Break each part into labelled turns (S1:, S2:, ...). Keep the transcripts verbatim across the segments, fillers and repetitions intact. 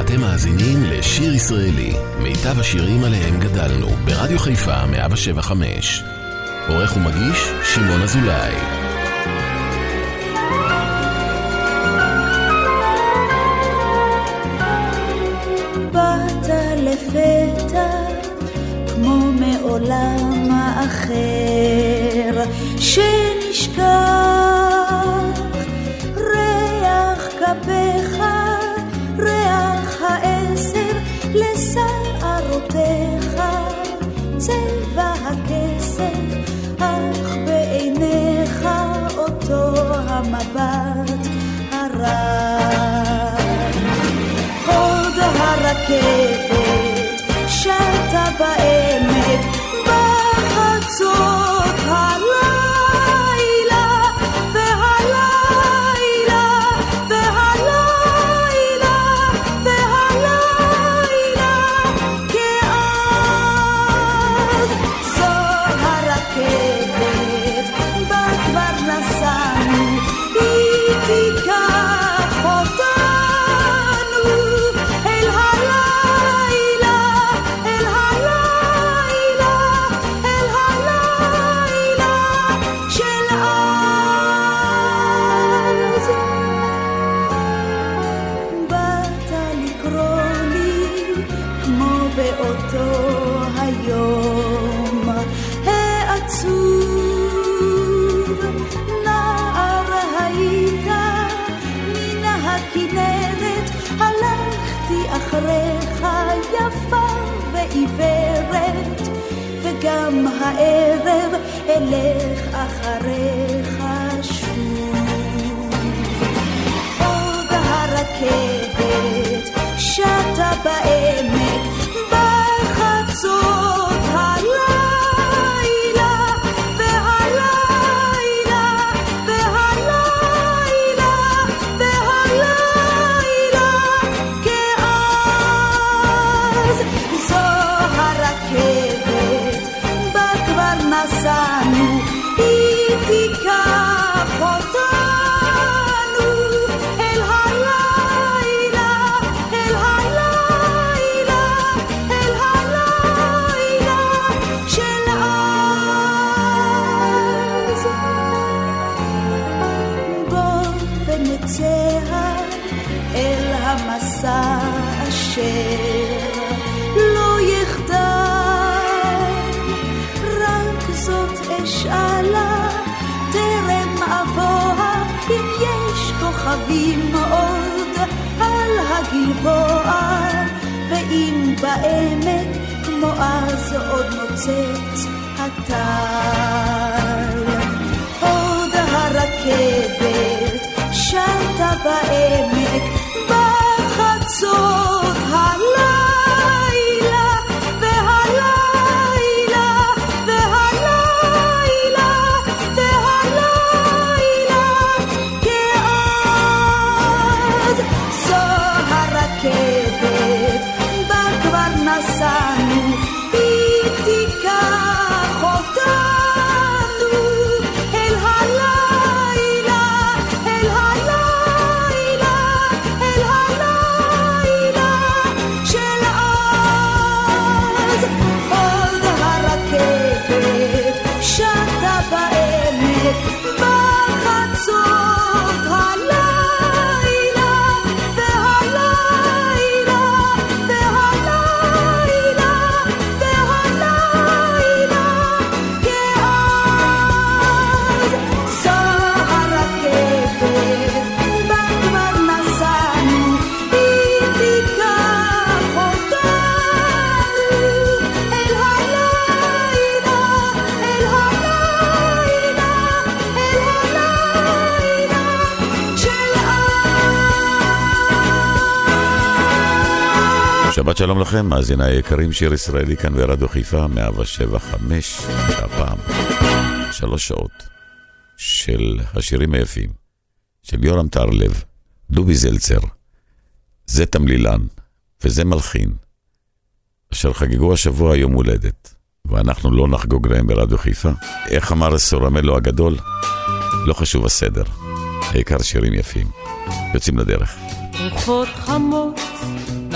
S1: אתם מאזינים לשיר ישראלי, מיטב השירים עליהם גדלנו, ברדיו חיפה מאה שבע חמש. עורך ומגיש שמעון אזולאי.
S2: באת לפתע כמו מעולם האחר שנשכח ריח כפיך, ריח העשר לשערותיך, צבע הכסף אך בעיניך אותו המבט הרע. עוד הרכבת שטה בעמק בחצות הלילה, והלילה והלילה והלילה כאז זו הרכבת בה כבר נסענו, היא תיקח אותנו אל הלילה, אל הלילה, אל הלילה של אז. באת לקרוא לי כמו באותו היום העצוב, נער היית מן הכנרת, הלכתי אחריך יפה ועיוורת, וגם הערב אלך אחריך שוב. עוד הרכבת שטה בעמק בחצות הלילה, והלילה והלילה והלילה כאז זו הרכבת בה כבר נסענו, היא תיקח אותנו אל הלילה, אל הלילה, אל הלילה של אז. בוא ונצא אל המסע אשר לא יחדל, רק זאת אשאלה טרם אבוה, אם יש כוכבים עוד על הגלבוע, ואם בעמק כמו אז עוד נוצץ הטל. עוד הרכבת שטה בעמק בחצות הלילה, והלילה והלילה והלילה כאז זו הרכבת בה כבר נסענו, היא תיקח אותנו אל הלילה, אל הלילה, אל הלילה של אז. עוד הרכבת שטה בעמק בחצות הלילה, והלילה והלילה והלילה כאז זו הרכבת בה כבר נסענו, היא תיקח אותנו אל הלילה, אל הלילה, אל הלילה של אז.
S3: שבת שלום לכם, מאזיני היקרים, שיר ישראלי כאן ברדיו חיפה מאה שבע חמש, והפעם שלוש שעות של השירים היפים של יורם טהרלב, דובי זלצר, זה תמלילן וזה מלחין, אשר חגגו השבוע יום הולדת, ואנחנו לא נחגוג להם ברדיו חיפה. איך אמר סורמלו הגדול? לא חשוב הסדר, העיקר שירים יפים. יוצאים לדרך.
S4: רוחות חמות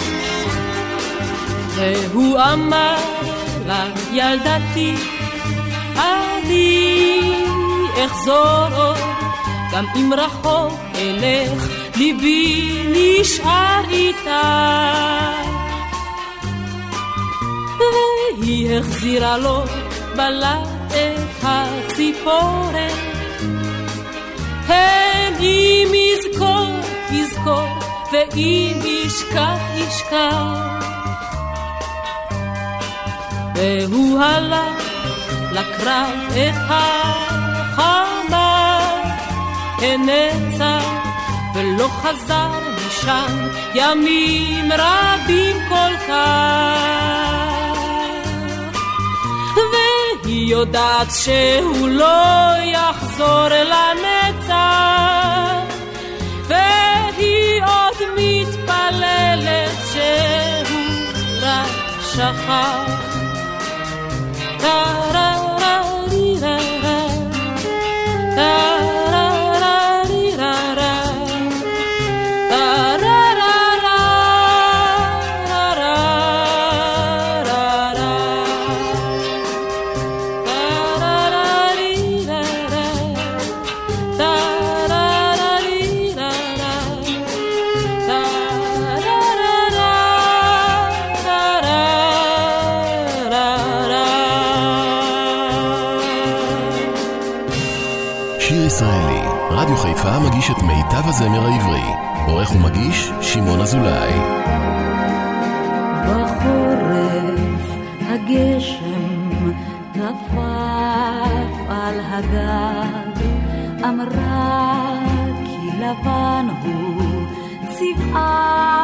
S4: והוא אמר לה, ילדתי, אני אחזור עוד, גם אם רחוק אלך, ליבי נשאר איתה. והיא החזירה לו בלט את הציפורן, הן אם יזכור, יזכור, ואם ישכח, ישכח. והוא הלך לקרב את החמה, הנצח ולא חזר משם ימים רבים כל כך. והיא יודעת שהוא לא יחזור לנצח, והיא עוד מתפללת שהוא רק שכח.
S1: ישראלי, רדיו חיפה מגיש את מיטב הזמר העברי. עורך ומגיש שמעון אזולאי.
S5: בחורף הגשם טפף על הגג, אמרה כי לבן הוא צבעה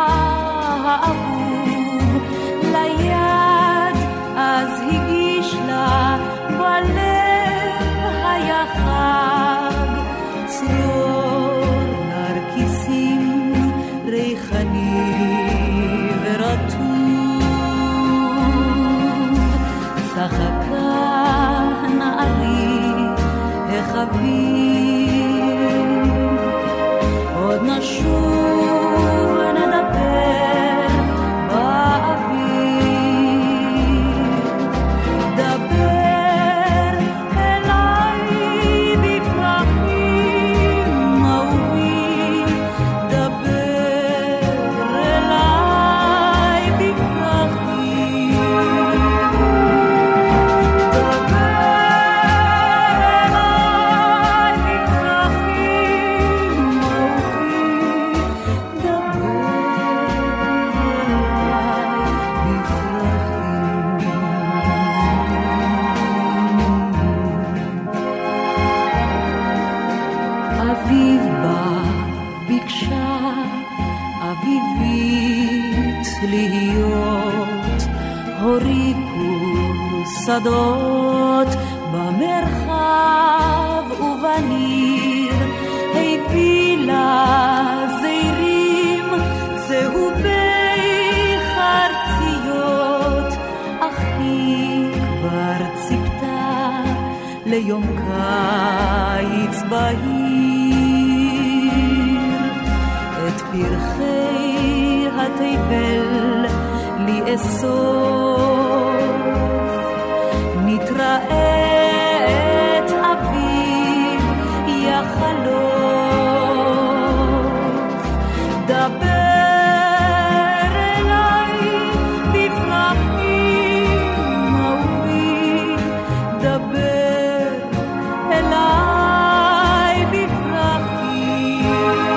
S5: האהוב ליד, אז הגיש לה בלב היה חג צרור נרקיסים ריחני ורטוב, צחקה אתה נערי החביב, עוד נשוב ונדבר באוויר, דבר אליי בפרחים אהובי, דבר אליי בפרחים, אביב בא ביקשה אביבית להיות, הוריקו שדות במרחב ובניר, הביא לה זעירים צהובי חרציות, אך היא כבר ציפתה ליום קיץ בהיר, את פרחי התבל לאסוף, נתראה את אביב יחלוף, דבר אליי בפרחים אהובי, דבר אליי בפרחים,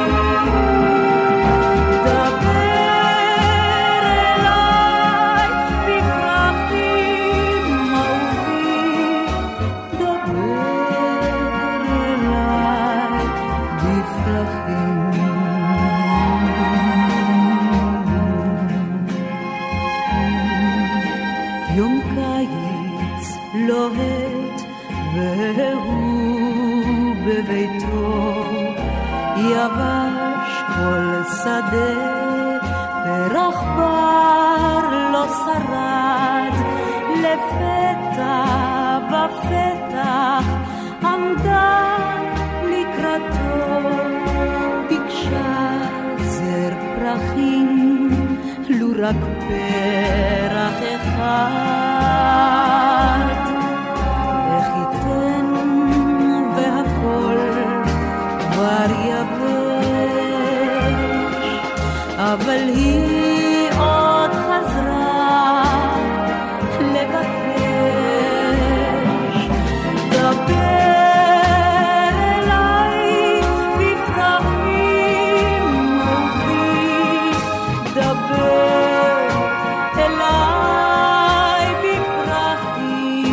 S5: דבר אליי בפרחים אהובי, דבר אליי בפרחים. יום קיץ לוהט והוא בביתו, יבש כל שדה פרח בר לא שרד, לפתע בפתח עמדה לקראתו, ביקשה זר פרחים לו רק פרח אחד, איך ייתן והכל כבר יבש, אבל היא עוד חזרה לבקש, דבר אליי בפרחים אהובי, דבר אליי בפרחים,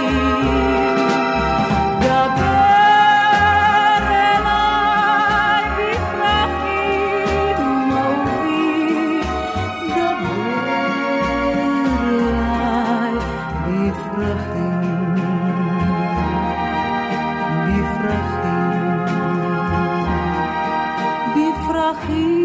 S5: דבר אליי בפרחים אהובי, דבר אליי בפרחים, בפרחים, בפרחים.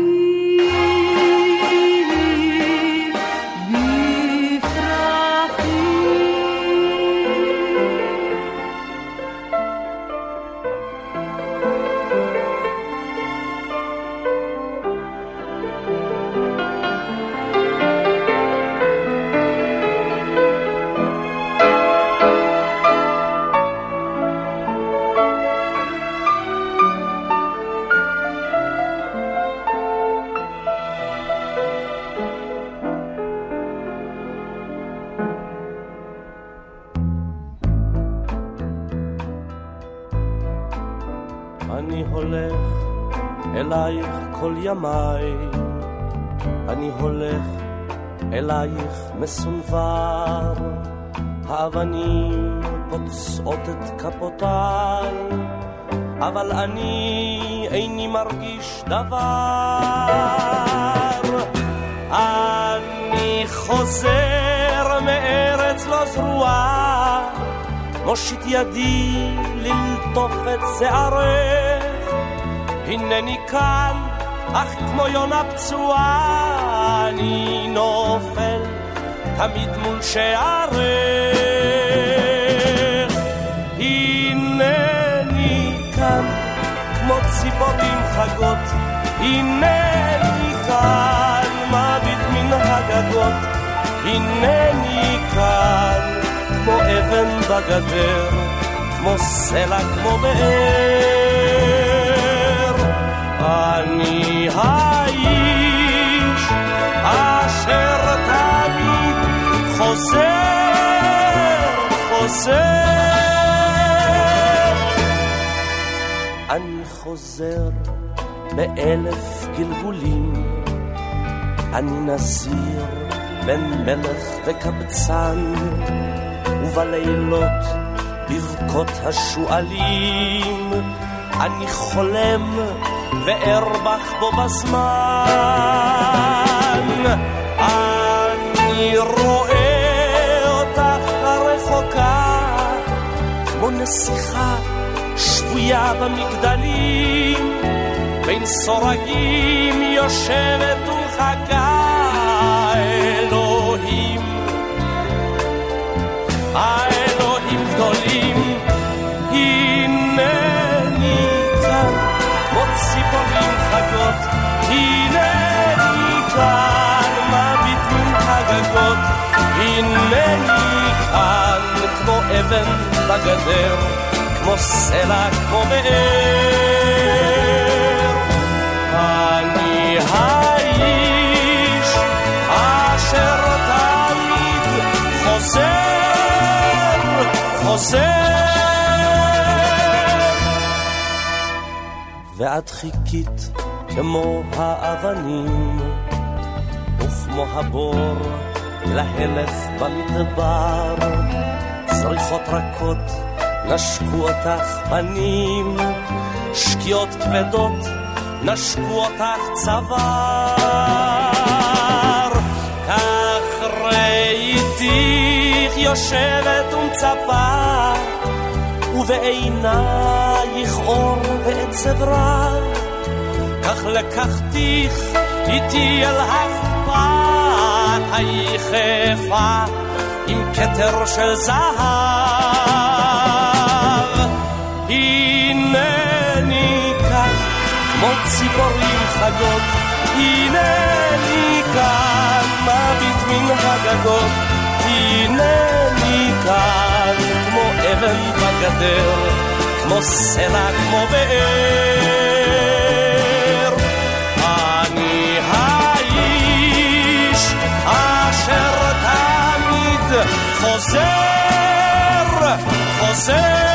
S6: אני הולך אלייך כל ימיי, אני הולך אלייך מסונבר, האבנים פוצעות את כפותיי, אבל אני איני מרגיש דבר. אני חוזר מארץ לא זרועה, מושיט ידי ללטוף את שערך, הנני כאן אך כמו יונה פצועה, אני נופל תמיד מול שערך. הנני כאן מביט מן הגגות, הנני כאן כמו אבן בגדר, כמו סלע כמו באר. אני האיש אשר תמיד חוזר, חוזר. אני חוזר באלף גלגולים, אני נזיר בין מלך וקבצן, ובלילות בבכות השואלים אני חולם וארבח בו בזמן. אני רואה אותך הרחוקה כמו נסיכה שבויה במגדלים, בין סורגים יושבת ומחכה. האלוהים, האלוהים גדולים, הנני כאן כמו ציפורים חגות, הנני כאן מביט מן הגגות, הנני כאן כמו אבן בגדר, כמו סלע כמו באר. אני האיש אשר תמיד חוזר, חוזר. ואת חיכית כמו האבנים וכמו הבור להלך במדבר, זריחות רכות נשקו אותך פנים, שקיעות כבדות נשקו אותך צוואר. כך ראיתיך יושבת ומצפה, ובעינייך אור ועצב רב. כך לקחתיך איתי אל החפת היחפה עם כתר של זהב. הנני כאן כמו ציפורים חגות, הנני כאן מביט מן הגגות, הנני כאן כמו אבן בגדר, כמו סלע כמו באר. אני האיש אשר תמיד חוזר, חוזר.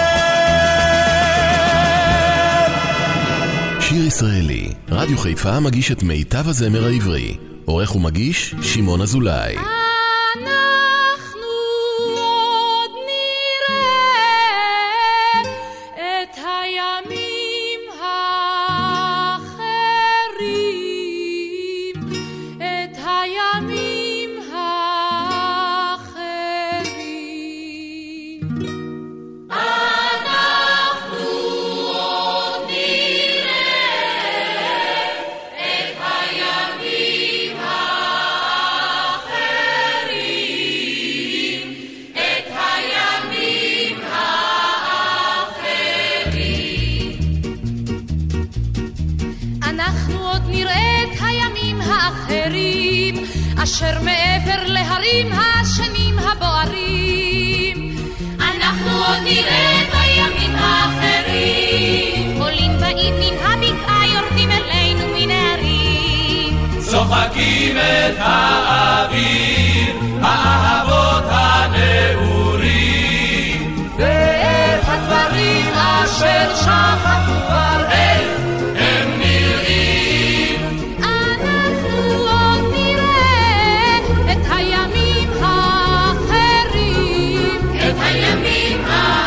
S1: שיר ישראלי, רדיו חיפה מגיש את מיטב הזמר העברי. עורך ומגיש שמעון אזולאי.
S4: אנחנו עוד נראה את הימים האחרים, את הימים האחרים. אנחנו עוד נראה את הימים האחרים, את הימים האחרים. אנחנו עוד נראה את הימים האחרים, אשר מעבר להרים השנים הבוערים. אנחנו עוד נראה את הימים האחרים, עולים באים מן הבקעה, יורדים אלינו מן הערים,
S7: צוחקים את האוויר, האהבות הנעורים,
S4: ואת הדברים אשר שכחנו כבר איך
S7: הם נראים.
S4: אנחנו עוד נראה את הימים האחרים,
S7: את הימים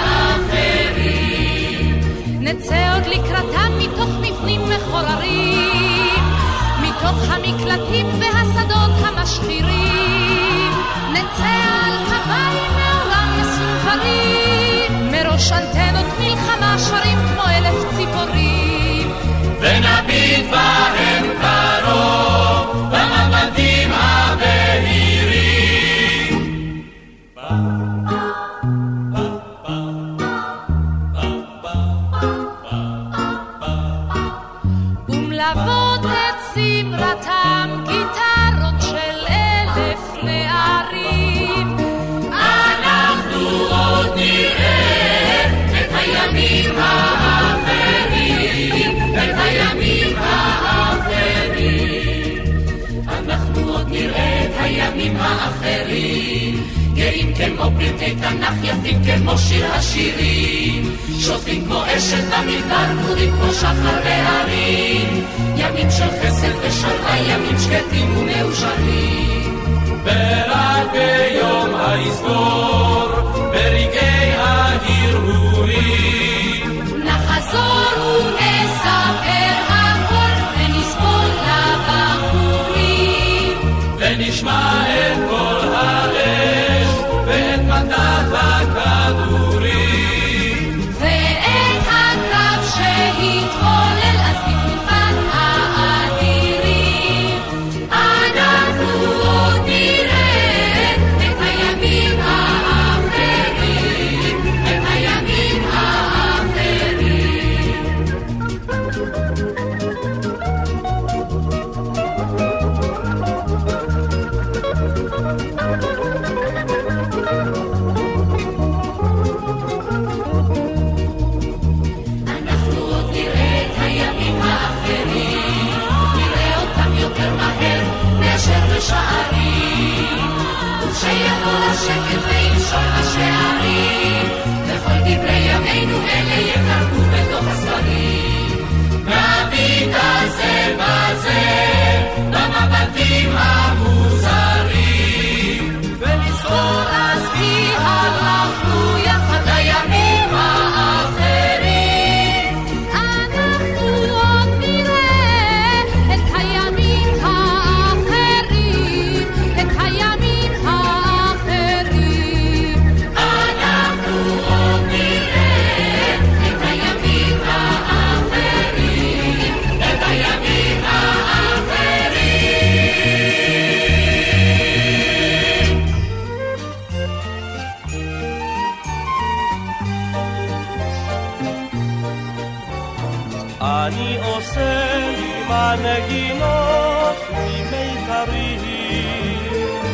S7: האחרים.
S4: נצא עוד לקראתם מתוך מבנים מחוררים, מתוך המקלטים והשדות המשחירים. נצא על הבית מעולם מסופרים, מראש אנטנות מלחמה שרים כמו אלף ציפורים,
S7: ונביט בהם קרוב במבטים הבהירים.
S4: ומלוות
S7: פרקי תנ"ך יפים כמו שיר השירים, שוטפים כמו אשת במדבר, גבורים כמו שחר בהרים, ימים של חסד ושלווה, ימים שקטים ומאושרים.
S6: ורק ביום היסגור, ברגעי ההרהורים,
S4: נחזור ונספר הכל, ונסבול לבחורים,
S6: ונשמע את כל האש, ואת מטף הכדורים,
S4: ואת הקרב שהתחולל אז בתקופת האדירים. אנחנו עוד נראה את הימים האחרים, את הימים האחרים. אנחנו עוד נראה את הימים האחרים, נראה אותם יותר מהר מאשר בשערים, וכשיבוא השקט וינשור השערים, וכל דברי ימינו אלה יחרקו בתוך הספרים.
S7: נביט על זה בזה, במבטים המוזרים,
S4: ונזכור אז כי הלכנו יחד לימים האחרים. אנחנו עוד נראה את הימים האחרים, את הימים האחרים.
S7: אנחנו עוד נראה את הימים האחרים, את הימים האחרים.
S6: אני עושה לי מנגינות ממיתרים,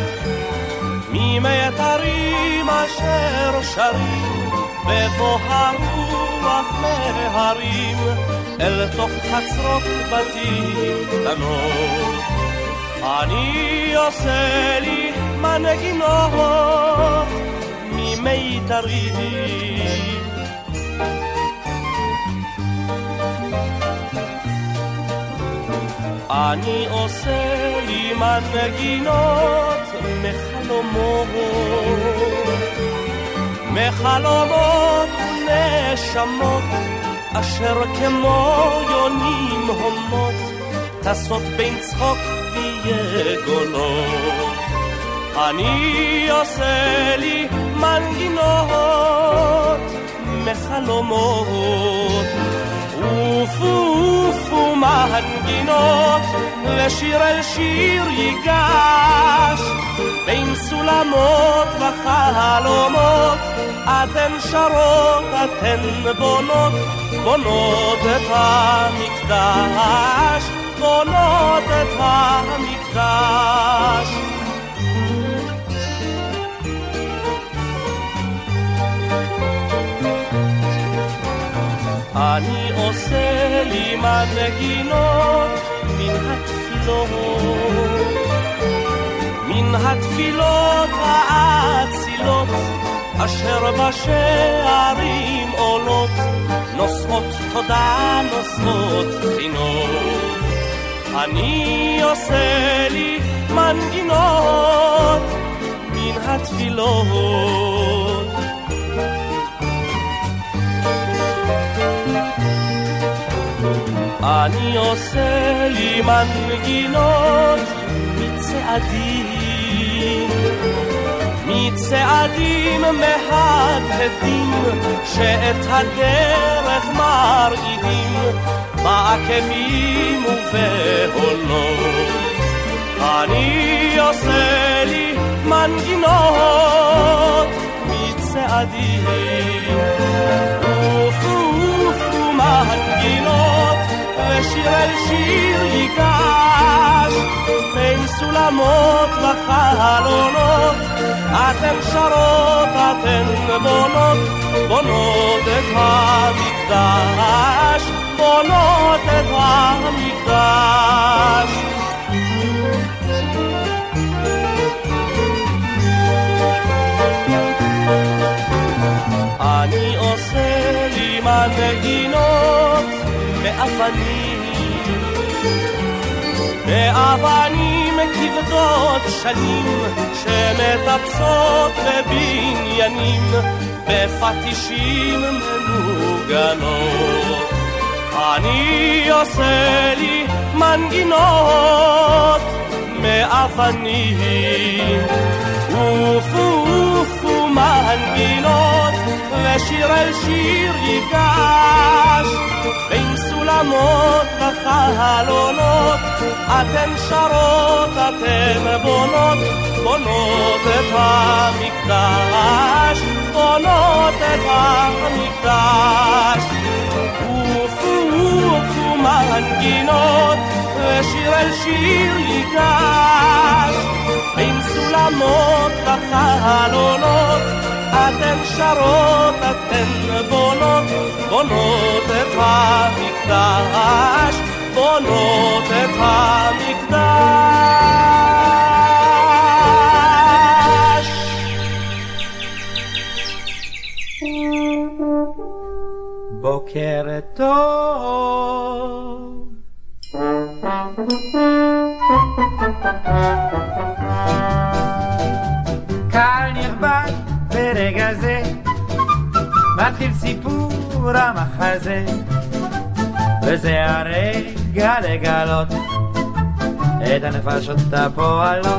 S6: ממיתרים אשר שרים בבוא הרוח מהרים, אל תוך חצרות בתים קטנות. אני עושה לי מנגינות ממיתרים, אני עושה לי מנגינות מחלומות, מחלומות ונשמות, אשר כמו יונים הומות, טסות בין צחוק ויגונות. אני עושה לי מנגינות מחלומות, אופו אופו מנגינות, ושיר אל שיר ייגש, בין סולמות וחלומות, אתן שרות, אתן בונות, בונות את המקדש, בונות את המקדש. אני עושה לי מנגינות מן התפילות, מן התפילות האצילות, אשר בשערים עולות, נושאות תודה, נושאות חינות. אני עושה לי מנגינות מן התפילות. אני עושה לי מנגינות מצעדים, מצעדים מהדהדים, שאת הדרך מרעידים, בעקבים ובהולות. אני עושה לי מנגינות מצעדים, אופו אופו מנגינות, ושיר אל שיר ייגש, בין סולמות וחלונות, אתן שרות, אתן בונות, בונות את המקדש, בונות את המקדש. מנגינות באבנים, באבנים כבדות שנים שמטפסות בבניינים, בפטישים מנוגנות. אני עושה לי מנגינות מאבנים, אופו אופו מנגינות, ושיר אל שיר ייגש, בין סולמות וחלונות, אתן שרות, אתן בונות, בונות את המקדש, בונות את המקדש. אופו אופו מנגינות, ושיר אל שיר ייגש, בין סולמות וחלונות, אתן שרות, אתן בונות, בונות את המקדש, בונות את המקדש.
S8: בוקר טוב, קהל נכבד ברגע זה, מתחיל סיפור המחזה, וזה הרגע לגלות את הנפשות הפועלות.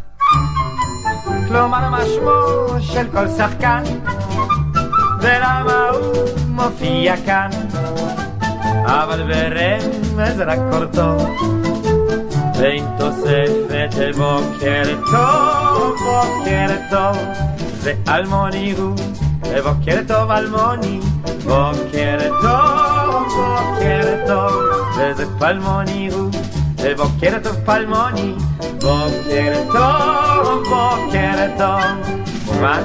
S8: כלומר מה שמו של כל שחקן, ולמה הוא מופיע כאן, אבל ברמז רק קורטו, ועם תוספת בוקר טוב, בוקר טוב, זה אלמוני הוא, בוקר טוב אלמוני, בוקר טוב, בוקר טוב, וזה פלמוני הוא, בוקר טוב פלמוני, בוקר טוב, בוקר טוב, ומה?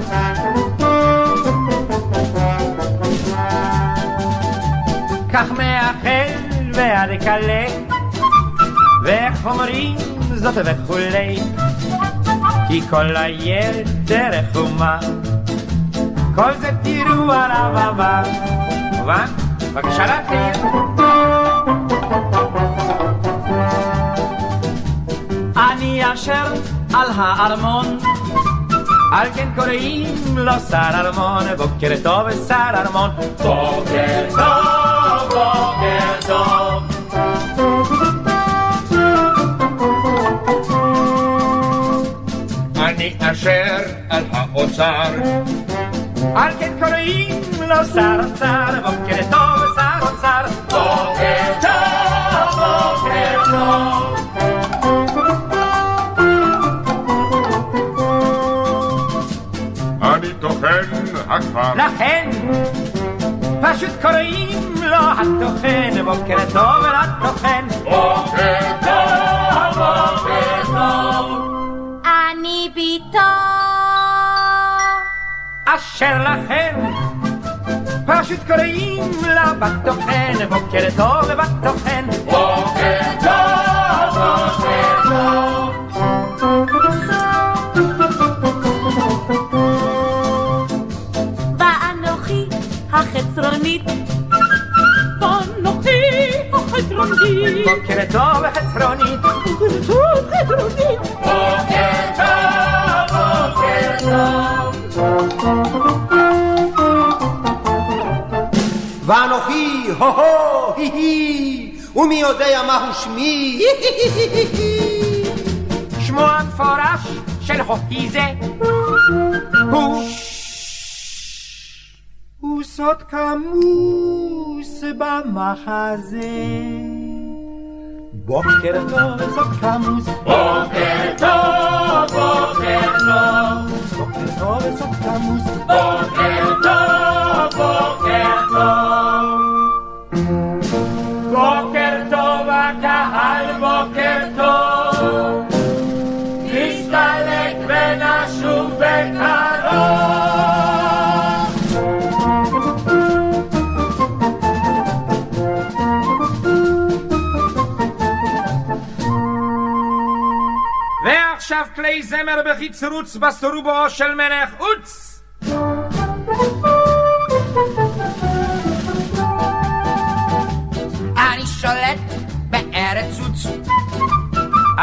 S8: כך מאחל ועד קלה, ואיך אומרים זאת וכולי, כי כל היתר חומה, כל זה תראו על הבמה. מובן? בבקשה להתחיל. אני אשר על הארמון, על כן קוראים לו שר ארמון, בוקר טוב שר ארמון, בוקר טוב, בוקר טוב. אני אשר על האוצר, על כן קוראים לו שר אוצר, בוקר טוב שר אוצר, בוקר טוב, בוקר טוב.
S9: אני טוחן הכפר,
S8: לכן פשוט קוראים לו הטוחן, בוקר טוב לטוחן,
S9: בוקר טוב, בוקר טוב.
S4: אני ביתו
S8: אשר לכן פשוט קוראים לה בטוחן, בוקר טוב בטוחן,
S9: בוקר טוב, בוקר טוב.
S5: ואנוכי החצרונית, ואנוכי החצרונית,
S8: בוקר טוב חצרונית,
S5: בוקר טוב חצרונית,
S9: בוקר טוב, בוקר טוב.
S10: ואנוכי הו-הו, הי-הי, ומי יודע מהו שמי?
S8: שמו המפורש של הוקי זה הוא הוא סוד כמוס במחזה. בוקר טוב סוד כמוס,
S9: בוקר טוב, בוקר טוב.
S8: בוקר טוב סוד כמוס,
S9: בוקר טוב, בוקר טוב.
S8: בוקר טוב הקהל, בוקר טוב, נסתלק ונשוב בקרוב. ועכשיו כלי זמר בחיצרוץ בסטרובו של מלך אוץ.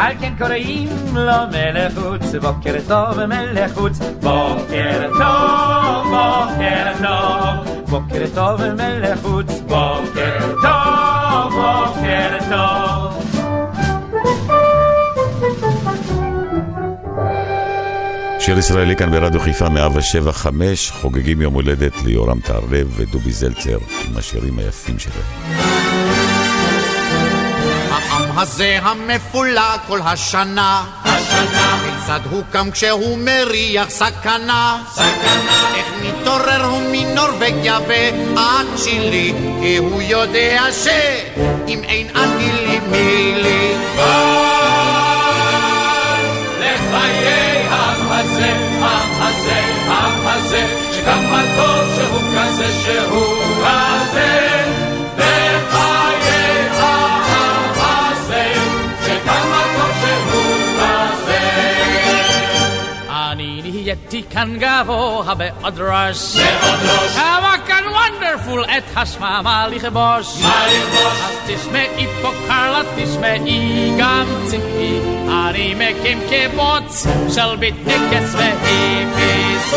S8: על כן קוראים לו מלך חוץ, בוקר טוב מלך חוץ, בוקר טוב, בוקר טוב, בוקר טוב מלך חוץ, בוקר טוב, בוקר טוב.
S3: שיר ישראלי כאן ברדיו חיפה מאה שבע חמש, חוגגים יום הולדת ליורם טהרלב ודובי זלצר עם השירים היפים שלהם.
S11: העם הזה המפולג כל השנה, השנה כיצד הוא קם כשהוא מריח סכנה, סכנה איך מתעורר הוא מנורווגיה ועד צ'ילי, כי הוא יודע שאם אין אני לי מי לי.
S9: לחיי העם הזה, העם הזה, העם הזה, שכמה טוב שהוא כזה שהוא כזה. לחיי העם הזה, שכמה טוב שהוא כזה.
S12: אני נהייתי כאן גבוה בעוד ראש, בעוד ראש. כמה כאן וונדרפול את השממה לכבוש.
S9: מה לכבוש?
S12: אז תשמעי פה קרלה, תשמעי גם ציפי, אני מקים קיבוץ של ביטניקס והיפיס.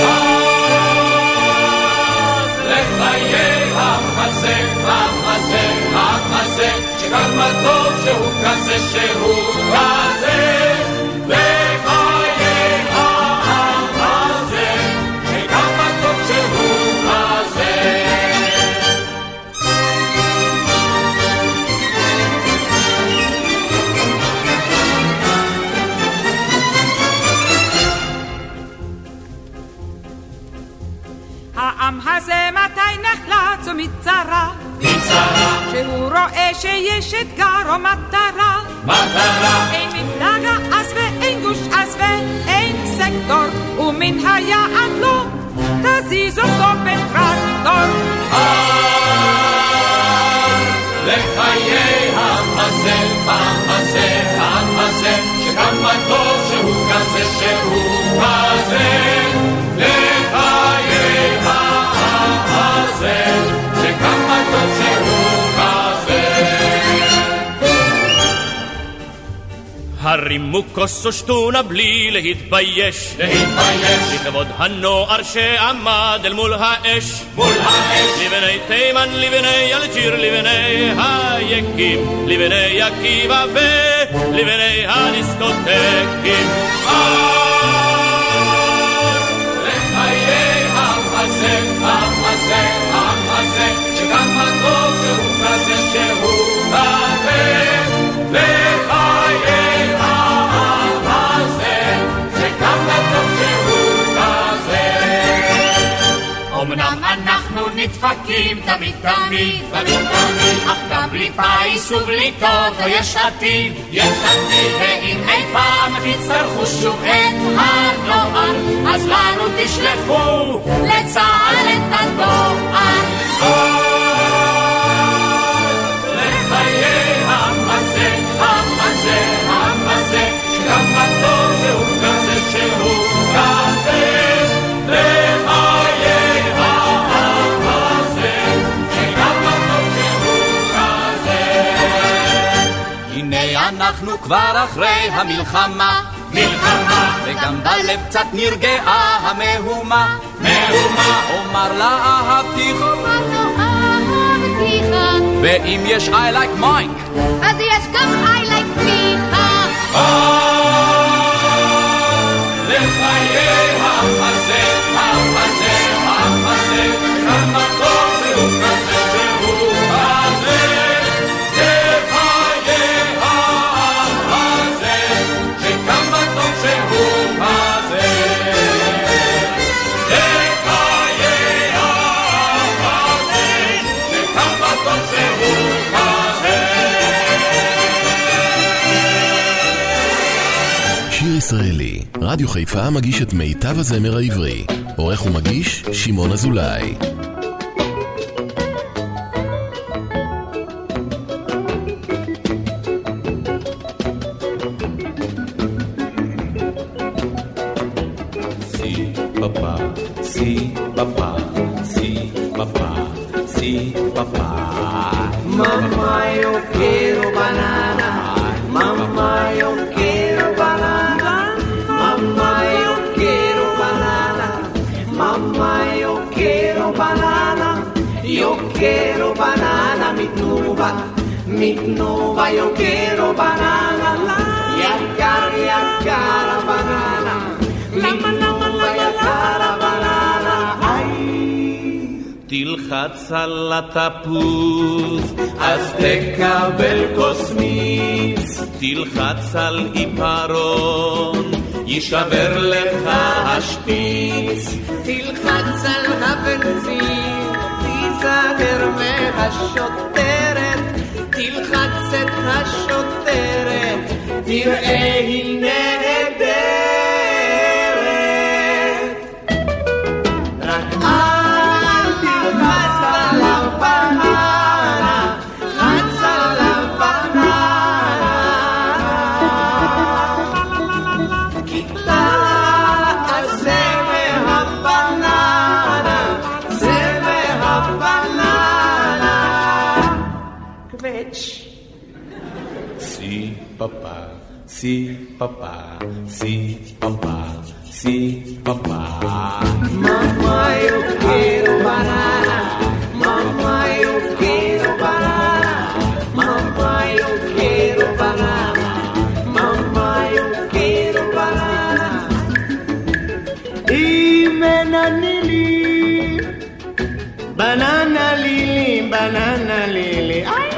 S9: לחיי העם הזה, העם הזה, העם הזה, שכמה טוב שהוא כזה שהוא כזה. לחיי העם הזה, שכמה טוב שהוא כזה.
S2: העם הזה מתי נחלץ ומצרה,
S9: מצרה,
S2: שהוא רואה שיש אתגר או מטרה,
S9: מטרה,
S2: אין מפלגה אז ואין גוש אז ואין סקטור, ומן היעד לא תזיז אותו בטרקטור.
S9: לחיי העם הזה, העם הזה, העם הזה, שכמה טוב שהוא כזה שהוא כזה. לחיי העם הזה, שכמה טוב שהוא כזה.
S6: הרימו כוס ושתונה בלי להתבייש,
S9: להתבייש,
S6: לכבוד הנוער שעמד אל מול האש,
S9: מול האש.
S6: לבני תימן, לבני אלג'יר, לבני היקים, לבני עקיבא ולבני הדיסקוטקים.
S9: לחיי העם הזה, העם הזה, העם הזה, שכמה טוב שהוא כזה שהוא כזה. לחיי העם הזה, שכמה טוב שהוא כזה.
S7: אמנם אנחנו נדפקים תמיד תמיד, תמיד תמיד, אך גם בלי פיס ובלי טוטו יש עתיד,
S9: יש עתיד.
S7: ואם אי פעם תצטרכו שוב את הנוער, אז לנו תשלחו לצה"ל את הדואר.
S9: לחיי העם הזה, העם הזה, העם הזה, שכמה טוב שהוא כזה שהוא כזה. לחיי העם הזה, שכמה טוב שהוא כזה.
S13: הנה אנחנו כבר אחרי המלחמה,
S9: מלחמה,
S13: וגם בלב קצת נרגעה המהומה.
S9: מהומה,
S13: אומר לה אהבתיך,
S4: אומר לו אהבתיך,
S13: ואם יש I like Mike,
S4: אז יש גם I like מיכה.
S9: לחיי העם הזה, העם הזה, העם הזה, כמה טוב שהוא כזה שהוא כזה. לחיי העם הזה, שכמה טוב שהוא כזה. לחיי העם הזה, שכמה טוב שהוא כזה.
S1: שיר ישראלי, רדיו חיפה מגיש את מיטב הזמר העברי. עורך ומגיש שמעון אזולאי.
S13: si papá, si papá, si papá, si papá.
S10: Mamá, yo quiero banana. Mamá, yo quiero
S14: yo quiero banana, mi tnuba, mi tnuba, yo quiero banana, יקר יקר הבננה, mi tnuba יקר הבננה,
S15: תלחץ על התפוז, אז תקבל קוסמיץ, תלחץ על עיפרון, יישבר לך השפיץ,
S14: תלחץ על הבנזין, תיזהר מהשוטרת, תלחץ את השוטרת, תראה היא נהדרת, רק אל תלחץ עליו בננה, חץ עליו בננה, כי אז זה מהבננה, זה מהבננה, קווץ'
S15: Si papá, si papá, si papá, si papá.
S14: Mamá, yo quiero banana. Mamá, yo quiero banana. Mamá, yo quiero banana. Mamá, yo quiero banana. Y bananili, banana lili, banana lili. Ay.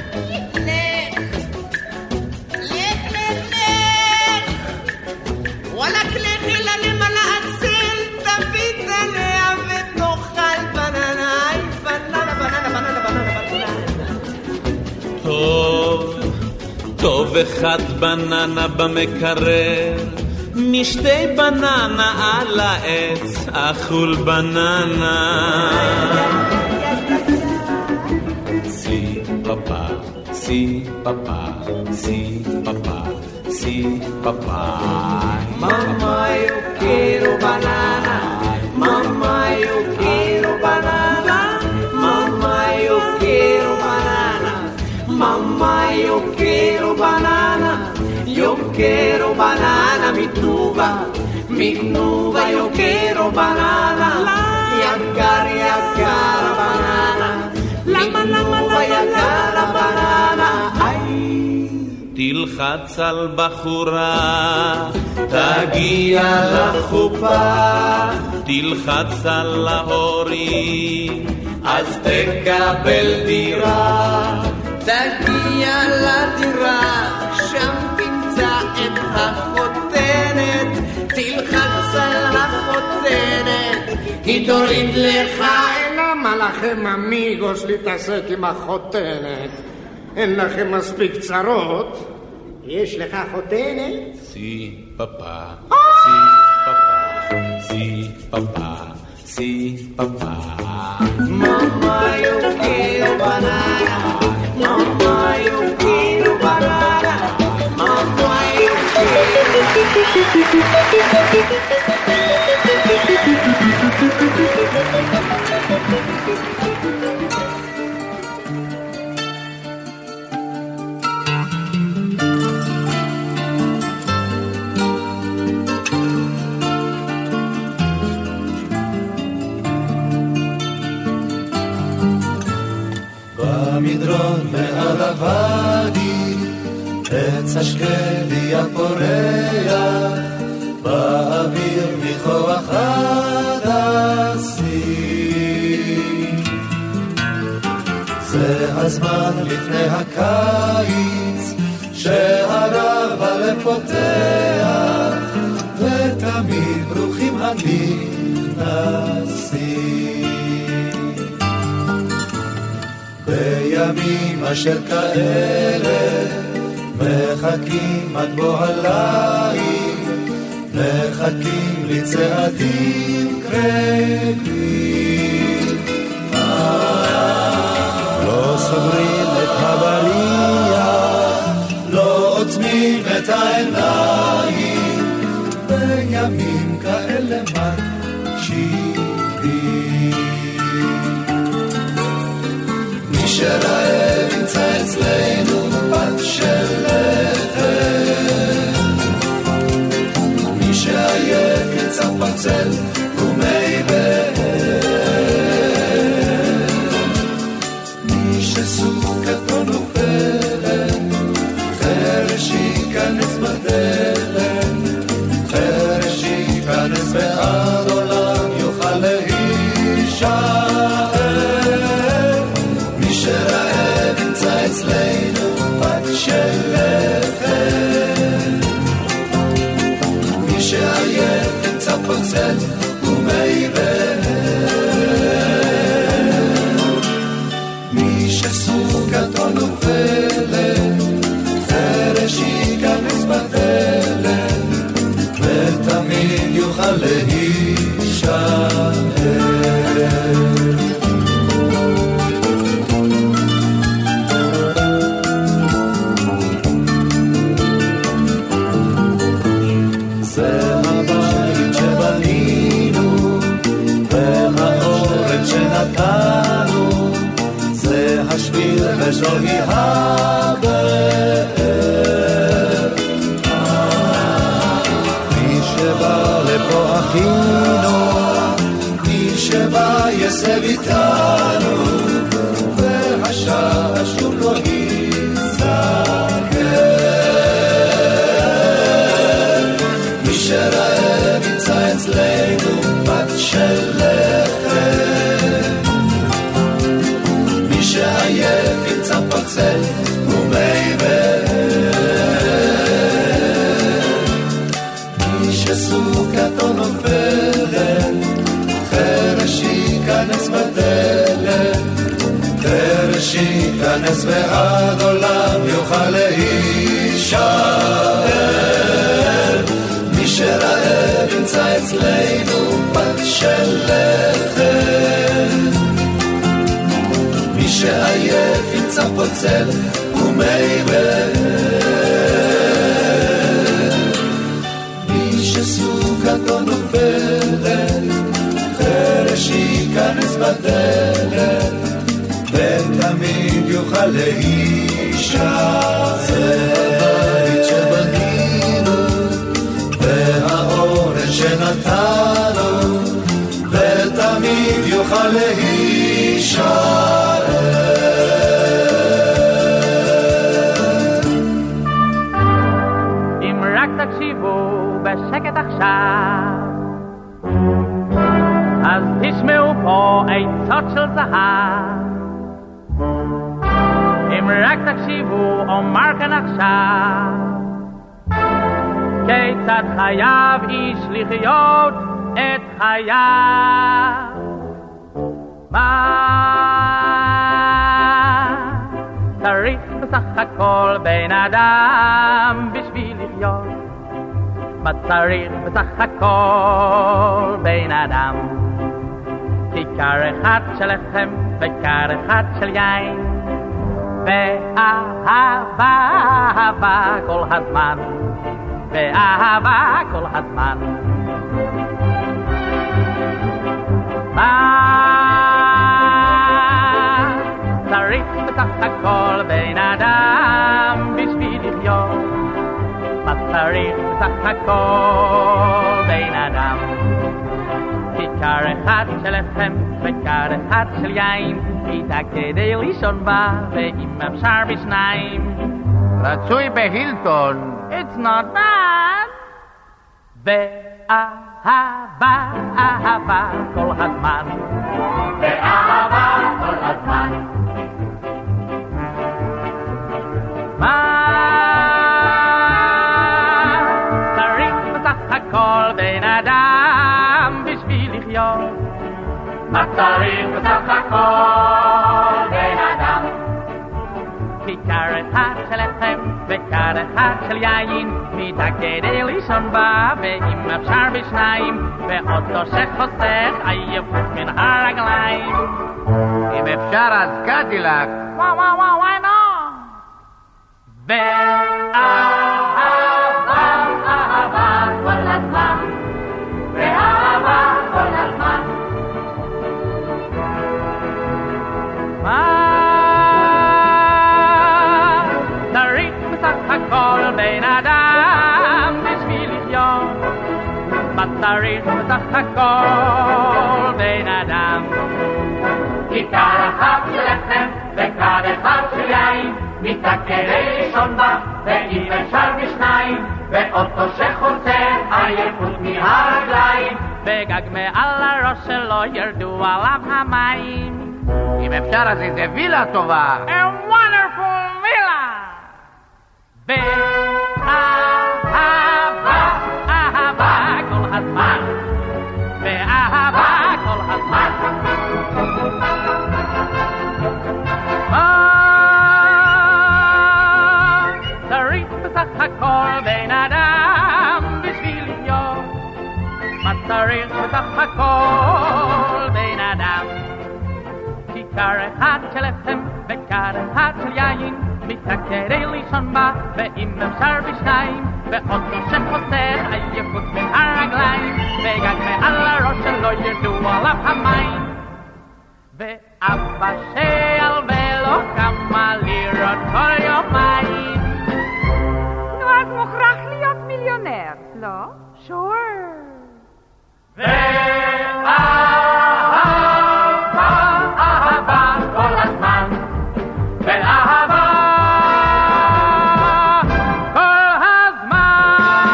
S14: ولك لخلا لملا أكسل تبيت لها ותאכל בננה, בננה, בננה, בננה, בננה, בננה.
S15: טוב, טוב אחד בננה במקרר, משתי בננה על העץ, אכול בננה. Si papá, si papá, si papá, si papá.
S14: Mamá, yo quiero banana. Mamá, yo quiero banana. Mamá, yo quiero banana. Mamá, yo quiero banana. Yo quiero banana, mi tnuba. Mi tnuba, yo quiero banana. יקר, יקר banana. Mi tnuba, יקר banana.
S15: תלחץ על בחורה, תגיע לחופה, תלחץ על ההורים, אז תקבל דירה.
S14: תגיע לדירה, שם תמצא את החותנת, תלחץ על החותנת, היא תוריד לך.
S16: למה לכם אמיגוס להתעסק עם החותנת? אין לכם מספיק צרות? יש לך חותנת?
S15: Si papá, si papá, si papá, si papá.
S14: Mamá, yo quiero banana. Mamá, yo quiero banana. Mamá, yo
S17: במדרון מעל הוואדי, עץ השקדי הפורח, באוויר מכוח הדסים. זה הזמן לפני הקיץ, שהרב הלב פותח, ותמיד ברוכים הנכנסים. בימים אשר כאלה מחכים עד בוא הליל, מחכים לצעדים קרבים. לא סוגרים את הבריח, לא עוצמים את העיניים, בימים כאלה מקשיבים. שרעב ימצא אצלנו פת של לחם, מי שעייף יצא פרצל ומי בהר, וזוהי הבאר. מי שבא לפה אחינו, מי שבא יסב איתנו, והשעה שוב לא ייזכר. מי שרעב ימצא אצלנו בת של לחם, מי שעייף ימצא פצל ומי באר. מי שסוכתו נופלת, חרש ייכנס בדלת, חרש ייכנס ועד עולם יוכל להישאר. מי שרעב ימצא אצלנו בת של לחם, מי שעייף ימצא פוצל ומי באר. מי שסוכתו נופלת, חרש ייכנס בדלת, ותמיד יוכל להישאר. זה הבית שבנינו והאורן שנתנו, ותמיד יוכל להישאר.
S12: אם רק תקשיבו בשקט עכשיו, אז תשמעו פה עצות של זהב. אם רק תקשיבו אומר כאן עכשיו, כיצד חייב איש לחיות את חייו. מה צריך בסך הכל בן אדם בשביל לחיות? מה צריך בסך הכל בן אדם? כיכר אחד של לחם וכר אחד של יין, ואהבה, אהבה כל הזמן, ואהבה כל הזמן. מה צריך בסך הכל בן אדם בשביל לחיות? מה צריך בסך הכל בן אדם? כיכר אחד של לחם וכר אחד של יין, מיטה כדי לישון בה, ואם אפשר בשניים.
S11: רצוי בהילטון.
S12: It's not bad. ואהבה, אהבה כל הזמן, ואהבה כל הזמן. מה צריך בסך הכל בן אדם בשביל לחיות? מה צריך בסך הכל בן אדם? כיכר אחד של לחם וכר אחד של יין, מיטה כדי לישון בה, ואם אפשר בשניים, ואוטו שחוסך עייפות מן הרגליים.
S11: אם אפשר אז קדילק.
S12: וואו וואו וואו וואי נו. ואהבה, אהבה כל הזמן, ואהבה כל הזמן. מה צריך בסך הכל בן אדם בשביל לחיות? מה צריך בסך הכל בן אדם? כיכר אחת של לחם וכר אחד של יין, מיטה כדי לישון בה, ואם אפשר בשניים, ואוטו שחוצה עייפות מהרגליים, וגג מעל הראש שלו ירדו עליו המים.
S11: אם אפשר אז איזה וילה טובה.
S12: A wonderful villa. ואהבה, אהבה כל הזמן, ואהבה כל הזמן. צריך בסך הכל בן אדם בשביל לחיות? מה צריך בסך הכל בן אדם? כיכר אחד של לחם וכר אחד של יין, מיטה כדי לישון בה, ואם אפשר בשניים, ואוטו שחוסך עייפות מן הרגליים, וגג מעל הראש שלו ירדו עליו המים. ואבא שעל ולא כמה לירות כל יומיים.
S2: נו, אז מוכרח להיות מיליונר, לא? שור.
S12: ואהבה, אהבה כל הזמן, ואהבה כל הזמן.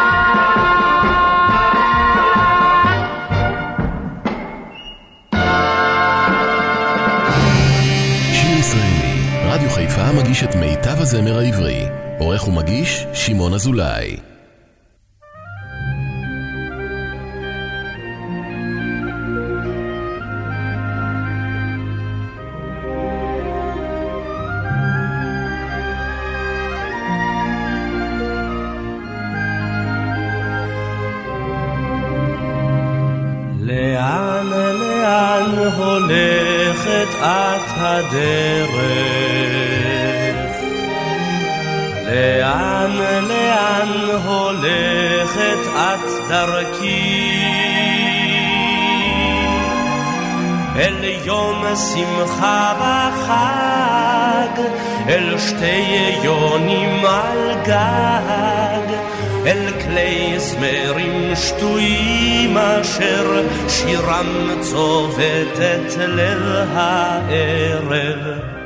S1: שיר ישראלי, רדיו חיפה מגיש את מיטב הזמר העברי. עורך ומגיש שמעון אזולאי.
S18: לאן לאן הולכת את הדרך, לאן לאן הולכת את דרכי, אל יום שמחה וחג, אל שתי יונים על גג, אל כלי זמרים שטויים אשר שירם צובט את ליל הערב.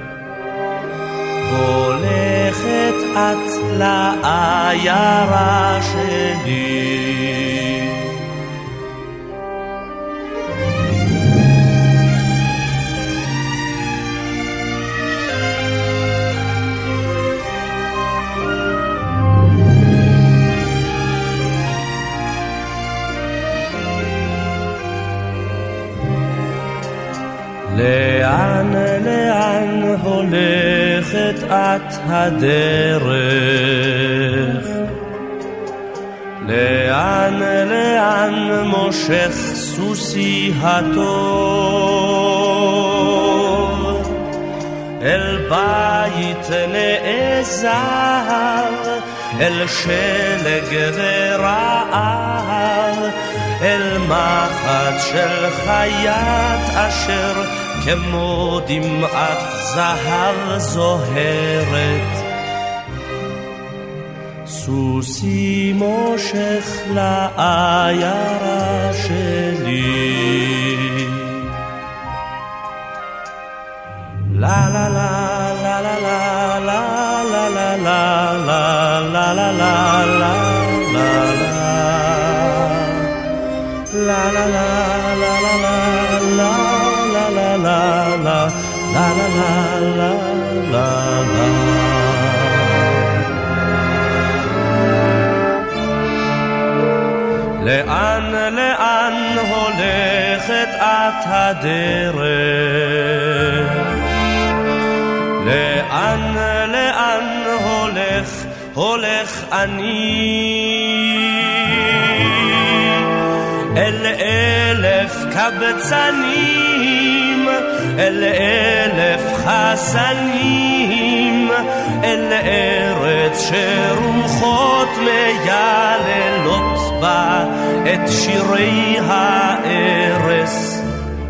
S18: הולכת את לעיירה שלי, לאן לאן הולכת את הדרך, לאן לאן מושך סוסי הטוב, אל בית נעזר, אל שלג ורעב, אל מחט של חיית אשר כמו דמעת זהב זוהרת. סוסי מושך לעיירה שלי, לה לה לה לה לה לה לה לה לה לה לה לה לה לה la la la la la la la la la la la la la la la la. לאן לאן הולכת את הדרך, לאן לאן הולך הולך אני, אל אלף קבצנים, אל אלף חסנים, אל ארץ שרוחות מייללות בה את שירי הארס.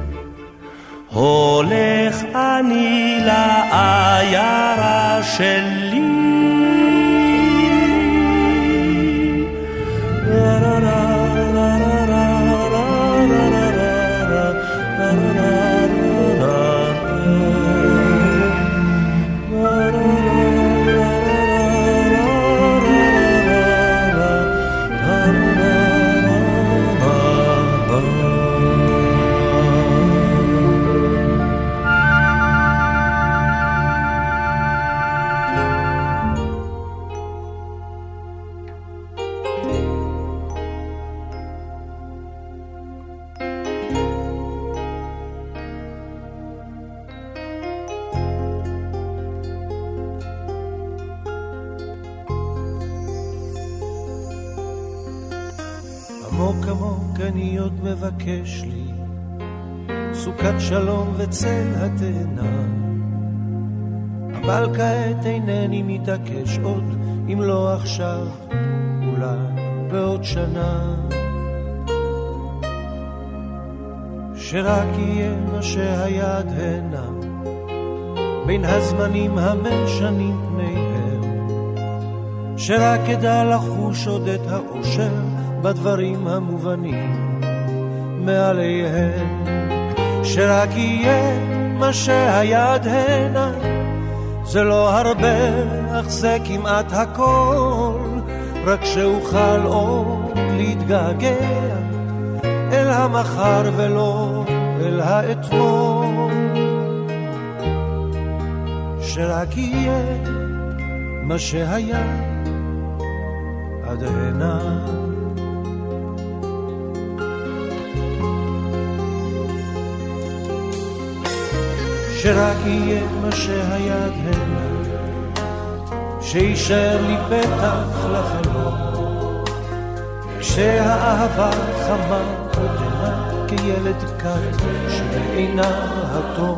S18: הולך אני לעיירה שלי,
S19: עמוק עמוק אני עוד מבקש לי סוכת שלום וצל התאנה, אבל כעת אינני מתעקש עוד, אם לא עכשיו אולי בעוד שנה, שרק יהיה מה שהיד הנה בין הזמנים המשנים פניהם, שרק ידע לחוש עוד את האושר בדברים המובנים מעליהם, שרק יהיה מה שהיד הנה, זה לא הרבה אך זה כמעט הכל, רק שאוכל עוד להתגעגע אל המחר ולא אל האתמול, שרק יהיה מה שהיה עד הנה. שרק יהיה מה שהיה עד הנה, שישאר לי פתח לחלום, שהאהבה חמה עודנה כילד קט שבעיניו התום.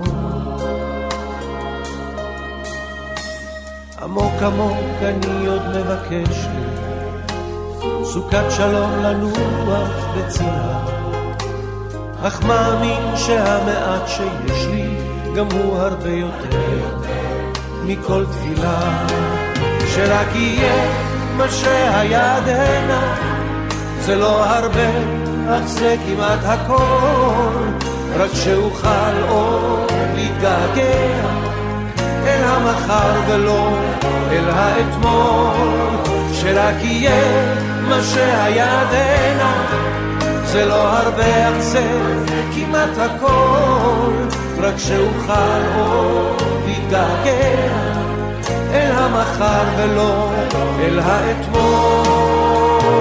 S19: עמוק עמוק אני עוד מבקש לי סוכת שלום לנוח בצילה, אך מאמין שהמעט שיש לי גם הוא הרבה יותר מכל תפילה, שרק יהיה מה שהיה עד הנה, זה לא הרבה אך זה כמעט הכל, רק שאוכל עוד להתגעגע אל המחר ולא אל האתמול, שרק יהיה מה שהיה עד הנה, זה לא הרבה אך זה כמעט הכל, רק שאוכל עוד להתגעגע אל המחר ולא אל האתמול.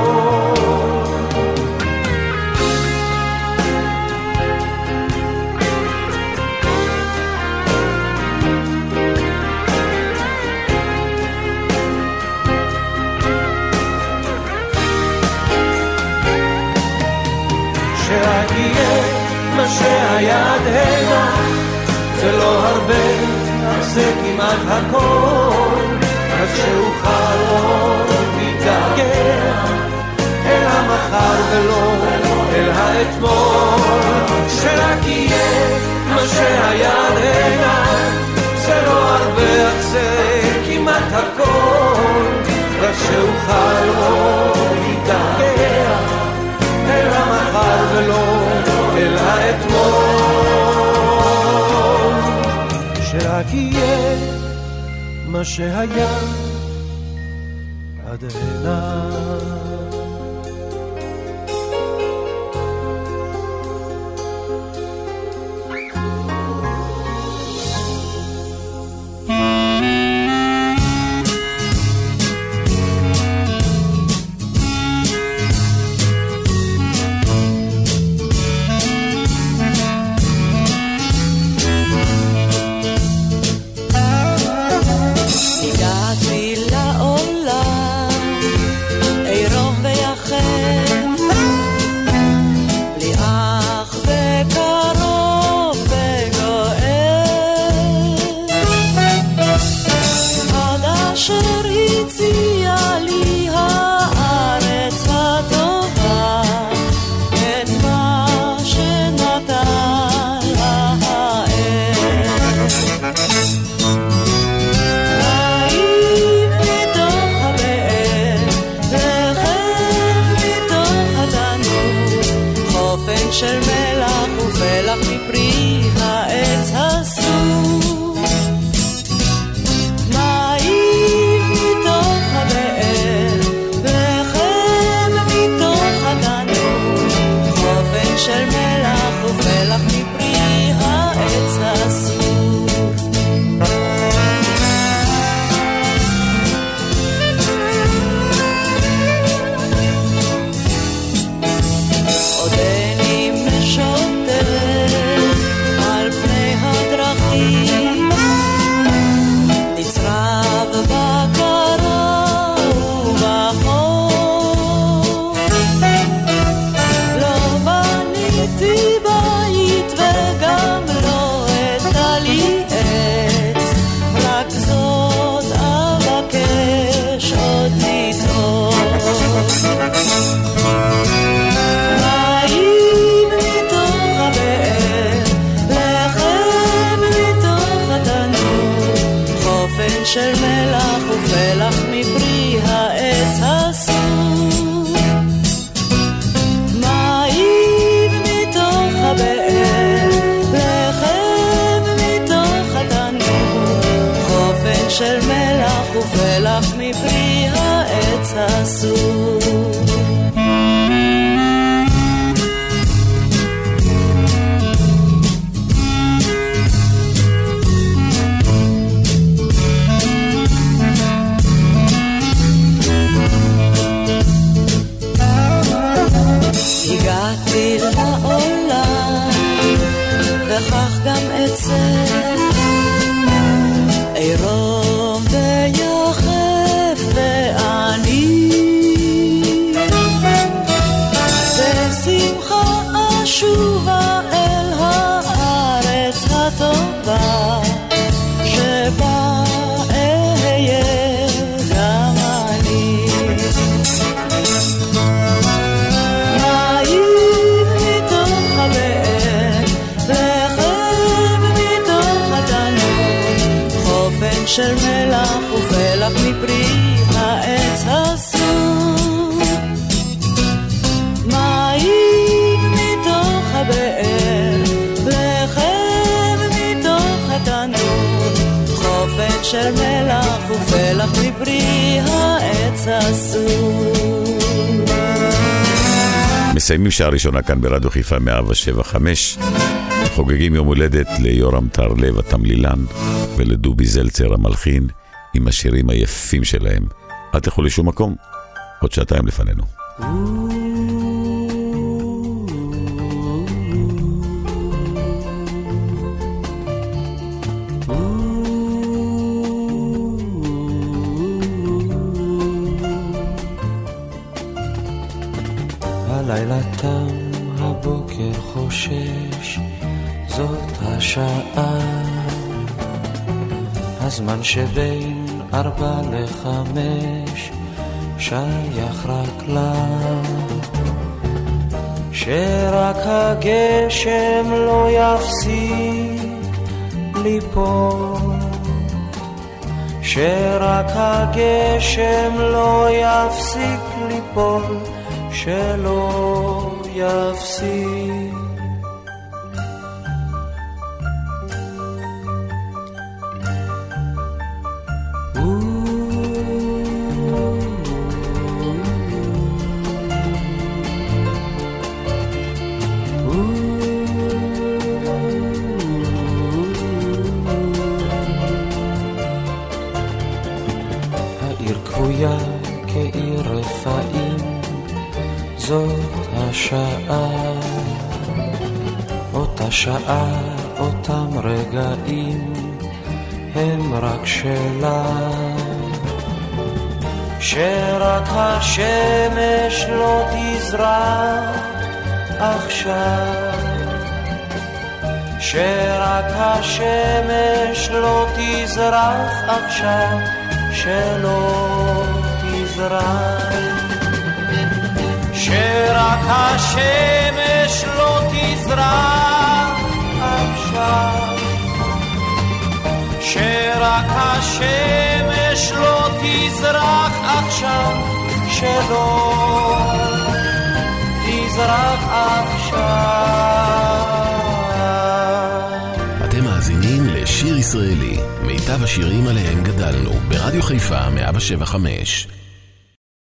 S19: שרק יהיה מה שהיה עד הנה, זה לא הרבה אך זה כמעט הכל, רק שאוכל עוד להתגעגע אל המחר ולא אל האתמול, שרק יהיה מה שהיה עד הנה, זה לא הרבה אך זה כמעט הכל, רק שאוכל עוד להתגעגע אל המחר ולא אל האתמול, שרק יהיה מה שהיה עד הנה.
S20: הגעתי לעולם עירום ופלח מפרי העץ הסור. מים מתוך הבאר, לחם מתוך התנור, חופן של מלח ופלח מפרי העץ הסור. הגעתי לעולם וכך גם אצא עירום ויחף ואני בשמחה אשובה אל הארץ הטובה שבה אהיה גם אני. של מלח ופלח מפרי העץ הסור. מים מתוך הבאר, לחם מתוך התנור, חופן של מלח ופלח מפרי העץ הסור.
S3: מסיימים שעה ראשונה כאן ברדיו חיפה מאה שבע חמש. חוגגים יום הולדת ליורם טרלב התמלילן ולדובי זלצר המלחין עם השירים היפים שלהם. אל תלכו לשום מקום, עוד שעתיים לפנינו.
S19: הלילה תם, הבוקר חושש, זאת השעה, הזמן שבין ארבע לחמש שייך רק לה, שרק הגשם לא יפסיק ליפול, שרק הגשם לא יפסיק ליפול, שלא יפסיק. כעיר רפאים, זאת השעה, אותה שעה, אותם רגעים, הם רק שלה, שרק השמש לא תזרח עכשיו, שרק השמש לא תזרח עכשיו, שלא תזרח, שרק השמש לא תזרח עכשיו, שרק השמש לא תזרח עכשיו, שלא תזרח עכשיו.
S1: אתם מאזינים לשיר ישראלי, מיטב השירים עליהם גדלנו, ברדיו חיפה מאה שבע חמש.